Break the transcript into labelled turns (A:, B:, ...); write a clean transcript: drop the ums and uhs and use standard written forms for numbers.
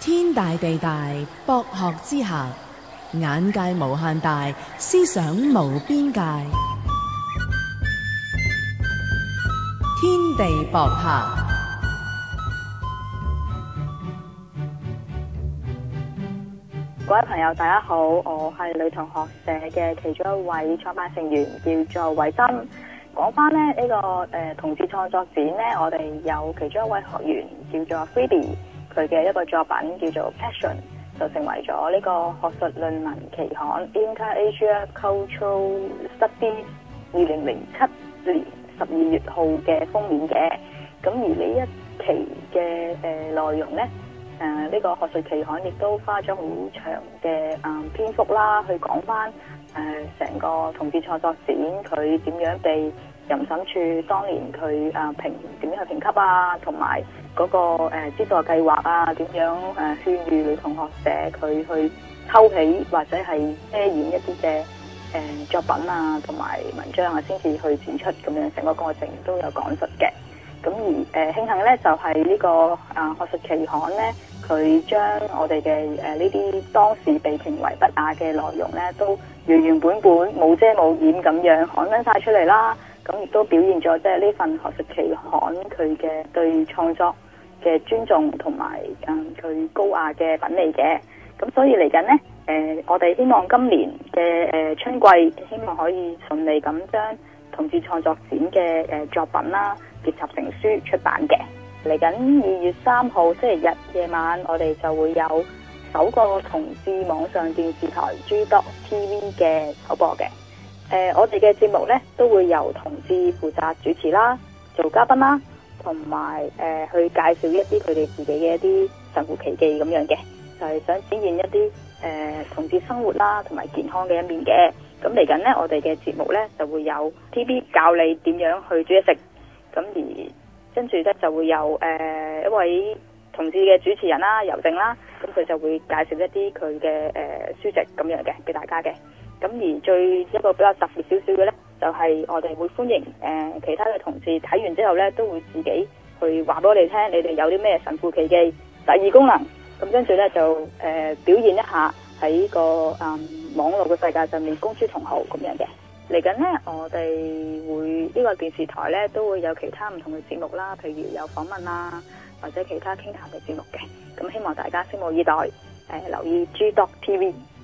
A: 天大地大，博學之下，眼界無限大，思想無邊界。天地博客。
B: 各位朋友大家好，我係女同學社嘅其中一位創辦成員，叫做偉珍。講翻呢個同志創作展呢，我哋有其中一位學員叫做 Phoebe， 佢嘅一個作品叫做 Passion， 就成為咗呢個學術論文期刊 Inter-Asia Cultural Studies 2007年12月號嘅封面嘅。咁而呢一期嘅內容呢，呢個學術期刊亦都花咗好長嘅篇幅啦，去講翻成個同志創作展佢點樣被淫審處當年佢點樣去評級啊，同埋嗰個資助計劃啊，點樣勸喻女同學社佢去抽起或者係遮掩一啲嘅作品啊，同埋文章啊，先至去展出咁樣，成個過程都有講述嘅。咁而慶幸咧，就係呢個學術期刊咧，佢將我哋嘅呢啲當時被評為不雅嘅內容咧，都原原本本冇遮冇掩咁樣刊登晒出嚟啦。咁亦都表現咗即係呢份學術期刊佢嘅對創作嘅尊重同埋佢高雅嘅品味嘅。咁所以嚟緊咧，我哋希望今年嘅春季，希望可以順利咁將同志創作展嘅作品啦，結集成書出版嘅。嚟緊2月3號星期日夜晚，我哋就會有首個同志網上電視台 G.TV 嘅首播嘅。我哋嘅節目呢，都會由同志負責主持啦，做嘉賓啦，同埋去介紹一啲佢哋自己嘅一啲神乎其技咁樣嘅，就係想展現一啲同志生活啦，同埋健康嘅一面嘅。咁嚟緊呢，我哋嘅節目呢，就會有 TV 教你點樣去煮嘢食，咁而跟住呢，就會有一位同志嘅主持人啦，尤靜啦，咁佢就會介紹一啲佢嘅書籍咁樣嘅俾大家嘅。咁而最一個比較特別少少嘅呢，就係我哋會歡迎其他嘅同志睇完之後呢，都會自己去話俾我哋聽，你哋有啲咩神乎其技、特異功能，咁跟住呢，就表現一下喺個網絡嘅世界上面公諸同好咁樣嘅。嚟緊呢，我哋會呢個電視台呢，都會有其他唔同嘅節目啦，譬如有訪問啦，或者其他傾談嘅節目嘅。咁希望大家拭目以待，留意 G.TV。